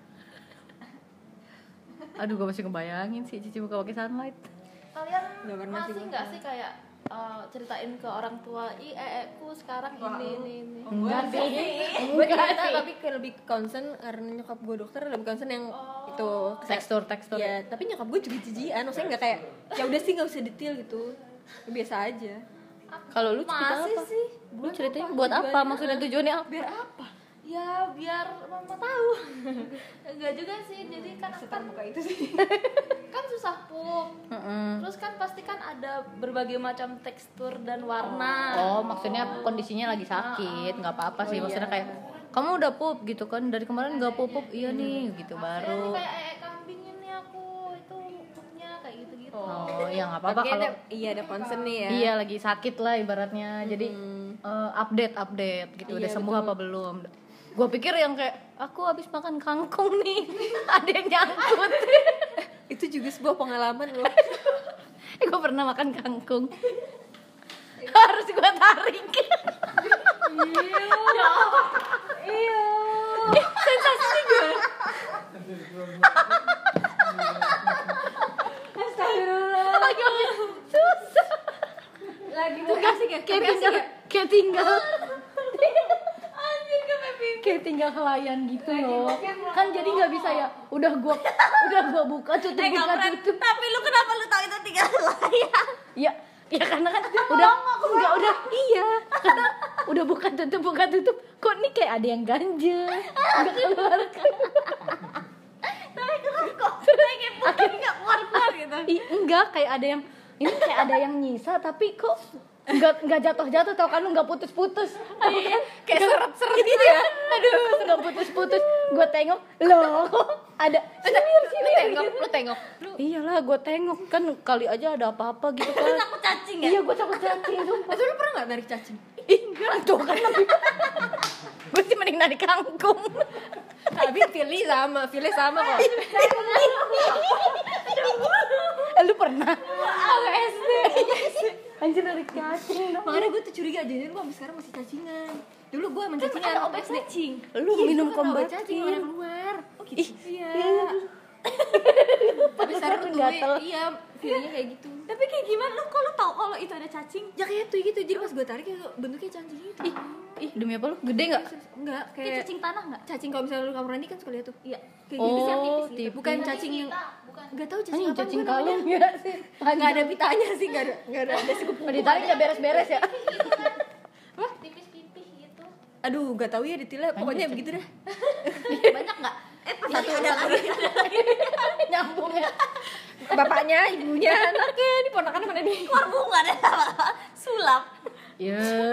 Speaker 2: Aduh, gue masih ngebayangin sih Cici buka pakai sunlight.
Speaker 3: Kalian
Speaker 1: Nggak pernah sih
Speaker 3: masih
Speaker 1: gua.
Speaker 3: nggak sih kayak ceritain ke orang tua, ku sekarang ini.
Speaker 2: Enggak sih.
Speaker 1: Gue cerita tapi lebih concern karena nyokap gue dokter, lebih concern yang itu
Speaker 2: Tekstur.
Speaker 1: ya. Tapi nyokap gue juga jijian, maksudnya nggak kayak ya udah sih nggak usah detail gitu, biasa aja.
Speaker 2: Kalau lu cerita
Speaker 3: Masih
Speaker 2: apa?
Speaker 3: sih.
Speaker 2: Lu ceritanya buat apa? Maksudnya tujuannya apa?
Speaker 1: Biar apa?
Speaker 3: Ya biar mama tahu. Enggak juga sih. Jadi kan
Speaker 1: Setar muka itu sih.
Speaker 3: kan susah pup. Terus kan pasti kan ada berbagai macam tekstur dan warna.
Speaker 2: Oh, maksudnya kondisinya lagi sakit, nggak apa-apa sih. Maksudnya kayak kamu udah pup gitu kan, dari kemarin nggak pup, iya nih gitu
Speaker 3: Ini
Speaker 2: baru.
Speaker 3: kayak kambing ini aku itu pupnya kayak gitu-gitu.
Speaker 2: Oh, ya nggak apa-apa
Speaker 1: Tapi
Speaker 2: kalau
Speaker 1: ada concern nih ya.
Speaker 2: iya lagi sakit lah ibaratnya. Jadi update gitu, udah
Speaker 1: Iya,
Speaker 2: sembuh apa belum? Gue pikir yang kayak aku habis makan kangkung nih, ada yang nyangkut.
Speaker 1: Itu juga sebuah pengalaman loh.
Speaker 2: Gue pernah makan kangkung. Harus gue tarik.
Speaker 1: Iya.
Speaker 2: Sensasinya gimana?
Speaker 1: Astagfirullah.
Speaker 2: Susah.
Speaker 1: Lagi tuh kasih ya.
Speaker 2: Kayak tinggal. Kayak tinggal helayan gitu loh. Kan jadi nggak bisa ya. Udah gua buka tutup.
Speaker 3: Tapi lu kenapa lu tahu itu tinggal layar?
Speaker 2: Ya karena kan udah iya. Karena udah buka tutup. Kok nih kayak ada yang ganjel. Udah keluar.
Speaker 3: Tapi kok kayak putih nggak keluar gitu.
Speaker 2: Enggak, kayak ada yang ini kayak ada yang nyisa tapi kok nggak jatuh tau kan, lu nggak putus-putus.
Speaker 1: Kayak seret-seret gitu ya.
Speaker 2: Aduh, nggak putus-putus. Gue tengok, loh ada
Speaker 1: Lu tengok.
Speaker 2: Iyalah, gue tengok kan kali aja ada apa-apa gitu kan.
Speaker 3: Takut cacing ya?
Speaker 2: Iya, gue takut cacing sumpah.
Speaker 1: Itu lu pernah nggak narik cacing?
Speaker 2: Ih, enggak tuh kan lebih. Gue sih mending narik kangkung.
Speaker 1: Tapi pilih sama kok.
Speaker 2: Lu pernah? SD. Anjir dari cacing dong.
Speaker 1: Makanya gue tuh curiga aja, gue sampai sekarang masih cacingan. Dulu gue emang cacingan waktu SD.
Speaker 2: Lu minum
Speaker 1: kombat
Speaker 2: kombat
Speaker 1: cacing orang luar. Oh gitu. Iya. Tapi sekarang tuh
Speaker 2: gatel.
Speaker 1: iya, feelingnya kayak gitu.
Speaker 3: Tapi kayak gimana lu kalau tahu kalau itu ada cacing?
Speaker 1: Ya kayak tuh gitu, jadi pas gue tarik kayak bentuknya cacing gitu.
Speaker 2: Ih, demi apa lu? Gede enggak?
Speaker 1: Enggak,
Speaker 3: Kayak
Speaker 1: kayak
Speaker 3: cacing tanah enggak?
Speaker 1: cacing kalau misalnya lu kamar mandi kan suka lihat tuh. Iya. Kayak
Speaker 2: Oh,
Speaker 1: gitu sih,
Speaker 2: tipis
Speaker 1: gitu. Bukan cacing yang
Speaker 3: bukan.
Speaker 1: enggak tahu cacing
Speaker 2: Anjing
Speaker 1: apa
Speaker 2: cacing
Speaker 1: gua namanya.
Speaker 2: kalung ya sih.
Speaker 1: Enggak ada pitanya sih, enggak ada scoop.
Speaker 2: Kalau ditarik enggak beres-beres ya.
Speaker 3: Wah, tipis-tipis gitu.
Speaker 1: Aduh, enggak tahu ya detailnya, pokoknya
Speaker 2: cacing.
Speaker 1: begitu dah.
Speaker 3: Banyak enggak?
Speaker 1: Satu ada lagi.
Speaker 2: Nyambung ya.
Speaker 1: Bapaknya, ibunya, anaknya, ini ponakannya mana nih?
Speaker 3: Keluar bunga deh sulap.
Speaker 2: Ya.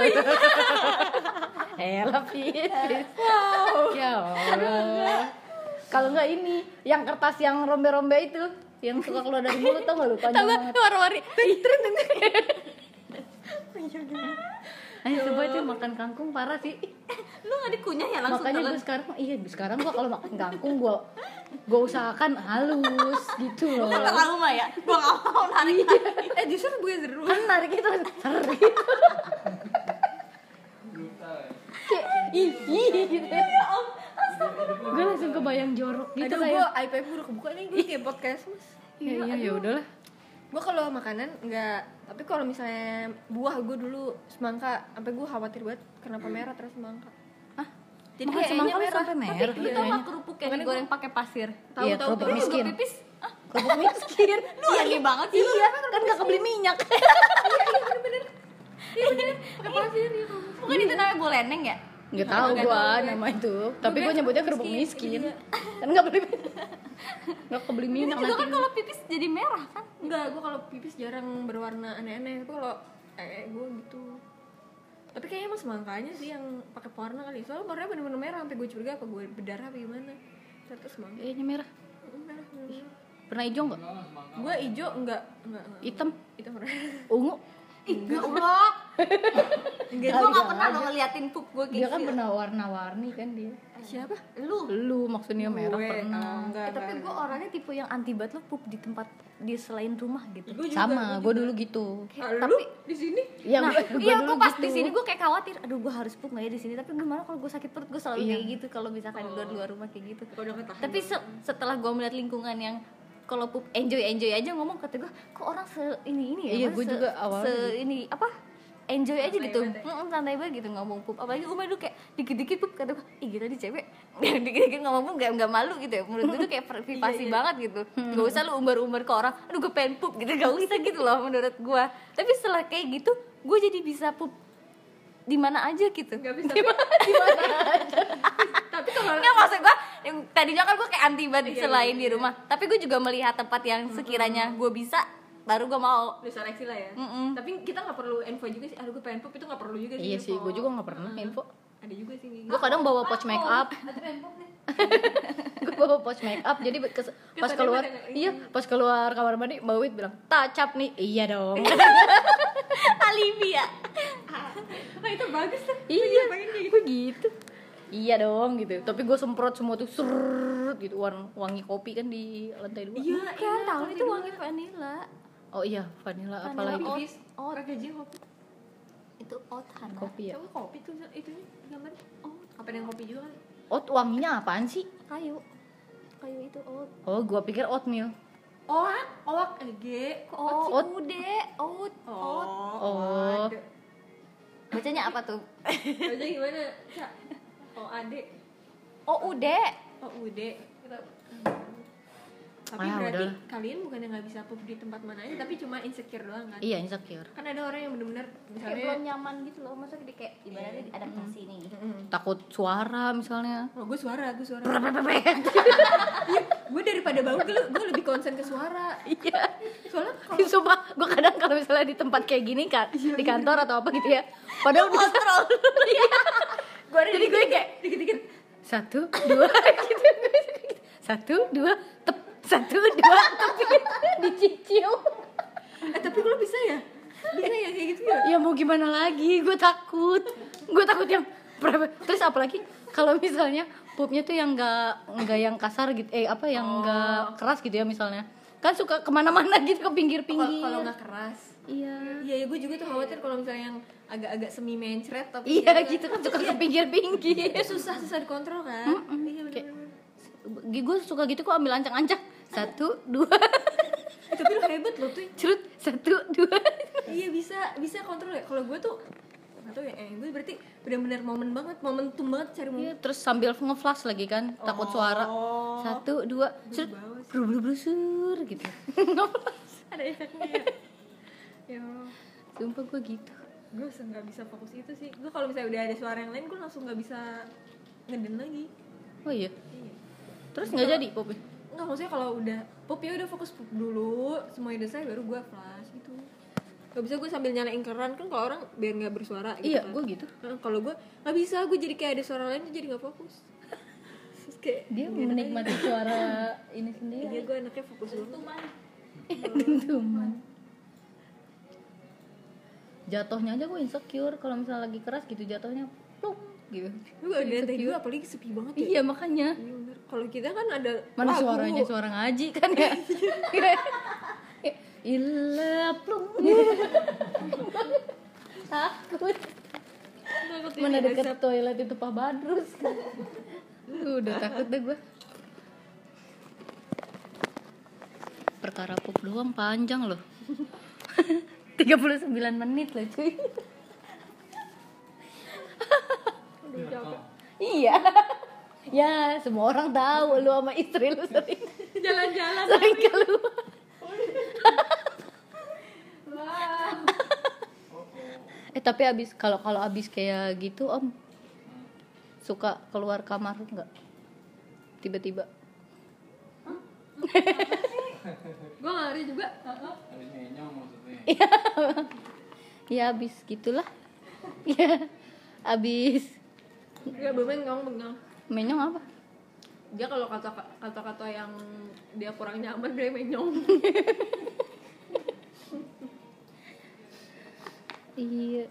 Speaker 2: Elah Fis. Wow. Ya Allah. Kalau enggak ini, yang kertas yang rombe-rombe itu, yang suka keluar dari mulut tau enggak lu? Panjang banget.
Speaker 1: Warna-warni.
Speaker 2: Ayo coba itu makan kangkung parah sih.
Speaker 3: Lu enggak dikunyah ya langsung
Speaker 2: Makanya gue sekarang gua kalau makan kangkung gua usahakan halus gitu loh.
Speaker 3: Kalau mah ya, gua enggak mau narik.
Speaker 1: Justru bukan seru.
Speaker 2: Kan narik itu seri. Kayak gitu. Gue langsung kebayang jorok gitu
Speaker 1: Aduh,
Speaker 2: kayak.
Speaker 1: gue iPad gue udah kebuka nih, gue kayak podcast mas.
Speaker 2: Iya ya udahlah.
Speaker 1: Gue kalau makanan enggak, tapi kalau misalnya buah gue dulu semangka, sampai gue khawatir banget kenapa merah terus semangka.
Speaker 2: Hah?
Speaker 1: Jadi
Speaker 2: Makan
Speaker 1: kayaknya
Speaker 2: semangka lu
Speaker 1: merah.
Speaker 2: sampai merah.
Speaker 3: Lu tau enggak kerupuk yang digoreng pakai pasir?
Speaker 2: Iya,
Speaker 1: Tahu
Speaker 2: kerupuk miskin.
Speaker 3: Pipis.
Speaker 2: Kerupuk miskin.
Speaker 3: Lu lagi banget sih.
Speaker 2: Iya, kan enggak kebeli minyak.
Speaker 3: Pakai pasir ya. Bukan itu namanya boleneng ya?
Speaker 2: Enggak tahu gua nama itu, tapi gua nyebutnya kerupuk miskin. Kan enggak beli enggak kebeli minyak
Speaker 3: Itu
Speaker 2: nanti.
Speaker 3: kan kalau pipis jadi merah kan?
Speaker 1: Enggak, gue kalau pipis jarang berwarna aneh-aneh. Tapi kalau gue gitu. Tapi kayaknya emang semangkanya sih yang pakai pewarna kali. Soalnya warnanya bener-bener merah, sampai gue curiga apa gue berdarah apa gimana. Ternyata semangka.
Speaker 2: Kayaknya merah.
Speaker 1: Merah, bener-bener.
Speaker 2: Pernah hijau enggak?
Speaker 1: Gue hijau enggak.
Speaker 2: Hitam,
Speaker 1: Itu merah.
Speaker 2: ungu.
Speaker 3: Enggak Allah.
Speaker 1: Enggak.
Speaker 3: Gue gak pernah lo ngeliatin pup gue
Speaker 2: Dia
Speaker 3: kayak
Speaker 2: kan
Speaker 3: gitu.
Speaker 2: pernah warna-warni kan dia.
Speaker 1: Siapa?
Speaker 2: Lu maksudnya merah
Speaker 1: Gue.
Speaker 2: pernah.
Speaker 1: Enggak.
Speaker 3: Tapi gue orangnya tipe yang anti banget lo pup di tempat di selain rumah gitu.
Speaker 1: Gue juga.
Speaker 2: Sama, gua dulu gitu.
Speaker 1: Tapi di sini
Speaker 2: Ya,
Speaker 3: Nah,
Speaker 2: gua
Speaker 3: iya
Speaker 2: dulu
Speaker 3: gue pas
Speaker 2: gitu.
Speaker 3: di sini gue kayak khawatir, aduh gue harus pup nggak ya di sini. Tapi gimana kalau gue sakit perut gue selalu
Speaker 2: Iya.
Speaker 3: kayak gitu kalau misalkan di luar rumah kayak gitu.
Speaker 1: udah ketahan.
Speaker 3: Tapi setelah gue melihat lingkungan yang kalau pup enjoy aja ngomong, kata gue kok orang ini ya.
Speaker 2: Iya,
Speaker 3: Mas,
Speaker 2: gue juga awalnya
Speaker 3: ini apa enjoy aja gitu, santai banget gitu ngomong pup. Apalagi Uma dulu kayak dikit-dikit pup, kata gue ih gila nih cewek dikit-dikit ngomong pup nggak malu gitu ya. Menurut gue tuh kayak privasi banget gitu. Gak usah lu umbar-umbar ke orang, aduh gue pengen pup gitu, gak usah gitu loh menurut gue. Tapi setelah kayak gitu gue jadi bisa pup di mana aja gitu.
Speaker 1: Gak bisa. Tapi kalau
Speaker 3: Nggak, maksud gue yang tadinya kan gue kayak anti banget selain di rumah, tapi gue juga melihat tempat yang sekiranya gue bisa baru gue mau.
Speaker 1: udah seleksi lah ya.
Speaker 3: Mm-mm.
Speaker 1: Tapi kita nggak perlu info juga sih. Aduh gue pengen pup itu nggak perlu juga sih.
Speaker 2: Iya sih,
Speaker 1: info.
Speaker 2: gua juga enggak pernah info.
Speaker 1: Ada juga sih. Kayak
Speaker 2: Gue kadang bawa pouch make up. Gue bawa pouch make up, jadi pas keluar, iya pas keluar kamar mandi Mbak Wit bilang tacap nih, iya dong.
Speaker 3: Alibi ya.
Speaker 1: Oh itu bagus tuh.
Speaker 2: Iya, gue gitu. Iya dong gitu. Tapi gue semprot semua tuh serut gitu, wangi kopi kan di lantai 2.
Speaker 1: Iya,
Speaker 3: Kan tahu itu wangi vanilla.
Speaker 2: Oh iya, vanilla
Speaker 3: Vanilla
Speaker 2: apalagi
Speaker 3: oat.
Speaker 1: Oh, pakai aja kopi.
Speaker 3: Itu oat Hana.
Speaker 2: kopi ya.
Speaker 1: Coba kopi tuh itunya gambarnya. Oh, apa yang kopi juga kali?
Speaker 2: Oat wanginya apaan sih?
Speaker 3: Kayu itu oat.
Speaker 2: Oh, gue pikir oatmeal.
Speaker 1: Oak, G.
Speaker 3: Oh,
Speaker 2: Oat.
Speaker 3: ude, oat.
Speaker 2: Oh.
Speaker 1: ada.
Speaker 3: Bacanya apa tuh?
Speaker 1: Baca gimana? Cak. Oh, ade.
Speaker 3: Oh, ude.
Speaker 1: Oh, ude. Tapi
Speaker 2: Ah,
Speaker 1: berarti
Speaker 2: udahlah.
Speaker 1: kalian bukannya nggak bisa pup di tempat mana aja, tapi cuma insecure doang kan?
Speaker 2: Iya, insecure.
Speaker 1: Kan ada orang yang benar-benar
Speaker 3: Kayak
Speaker 1: misalnya
Speaker 3: belum nyaman gitu loh. Maksudnya dia kayak ibaratnya adaptasi nih.
Speaker 2: Takut suara misalnya.
Speaker 1: Oh, gue suara. Gue daripada bau gue lebih concern ke suara.
Speaker 2: Iya.
Speaker 1: Soalnya kalau
Speaker 2: Sumpah, gue kadang kalau misalnya di tempat kayak gini kan, di kantor atau apa gitu ya. Padahal udah
Speaker 3: Kontrol.
Speaker 1: gue ada jadi gue kayak dikit-dikit
Speaker 2: 1, 2 gitu. 1, 2 tep, 1, 2 tep, dicicil.
Speaker 1: tapi lo bisa ya kayak gitu ya?
Speaker 2: Ya mau gimana lagi, gue takut yang terus apalagi kalau misalnya Pupnya tuh yang nggak yang kasar gitu, apa yang nggak keras gitu ya misalnya. Kan suka kemana-mana gitu ke pinggir-pinggir.
Speaker 1: Kalau nggak keras.
Speaker 2: Iya.
Speaker 1: Iya, gue juga tuh khawatir kalau misalnya yang agak-agak semi mencret tapi
Speaker 2: Iya gitu kan suka ke pinggir-pinggir.
Speaker 1: itu susah dikontrol kan. Iya benar.
Speaker 2: Gue suka gitu kok, ambil ancang-ancang. 1, 2.
Speaker 1: Tapi lu hebat loh tuh.
Speaker 2: Cerut 1, 2.
Speaker 1: Iya bisa kontrol ya. Kalau gue tuh nggak tahu ya. Gue berarti benar-benar momentum banget cari
Speaker 2: Iya, terus sambil nge-flash lagi kan, takut suara. 1, 2, cerut, brusur gitu.
Speaker 1: ada efeknya. Ya,
Speaker 2: Sumpah gue gitu.
Speaker 1: gue nggak bisa fokus itu sih. Gue kalau misalnya udah ada suara yang lain, gue langsung nggak bisa ngeden lagi.
Speaker 2: Oh iya.
Speaker 1: Iya.
Speaker 2: Terus nggak jadi popnya?
Speaker 1: Nggak, maksudnya kalau udah pop ya udah fokus pop dulu, semuanya udah selesai baru gue flash gitu. Gak bisa gue sambil nyalain keran kan, kalau orang biar nggak bersuara gitu.
Speaker 2: Iya,
Speaker 1: kan.
Speaker 2: gue gitu.
Speaker 1: Kalau gue nggak bisa, gue jadi kayak ada suara lain jadi nggak fokus. Terus kayak
Speaker 2: Dia menikmati suara ini
Speaker 1: iya,
Speaker 2: sendiri.
Speaker 1: gue anaknya fokus banget.
Speaker 2: Dentuman. Jatuhnya aja gue insecure kalau misalnya lagi keras gitu, jatuhnya pluk gitu.
Speaker 1: Lu gak ada lantai dua, apalagi sepi banget ya.
Speaker 2: Iya makanya.
Speaker 1: Iya bener. Kalau kita kan ada
Speaker 2: Mana
Speaker 1: lagu.
Speaker 2: suaranya suara ngaji kan ya. Illa plung. Takut. Mana deket toilet itu Pak Badrus kan. Udah takut deh gue. Perkara pup doang panjang loh. 39 menit loh cuy. Iya. Ya, semua orang tahu lu sama istri lu sering
Speaker 1: Jalan-jalan.
Speaker 2: sering keluar. Tapi kalau abis kayak gitu Om, suka keluar kamar nggak? Tiba-tiba.
Speaker 1: Gue ngari juga.
Speaker 5: Habis menyong maksudnya.
Speaker 2: Ya abis gitulah. Ya abis
Speaker 1: Gak bermengang.
Speaker 2: menyong apa?
Speaker 1: Dia kalau kata-kata yang dia kurang nyaman dia menyong.
Speaker 2: Iya.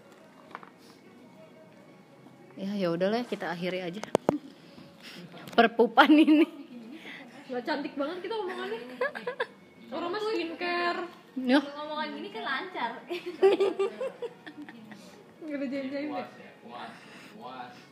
Speaker 2: Ya udahlah kita akhiri aja. Perpupan ini.
Speaker 1: Gak cantik banget kita omongannya. Orang mah skincare.
Speaker 2: Noh.
Speaker 3: Ngomongan gini kan lancar.
Speaker 1: Gak ada jaim-jaim ya.
Speaker 5: Puas ya, puas.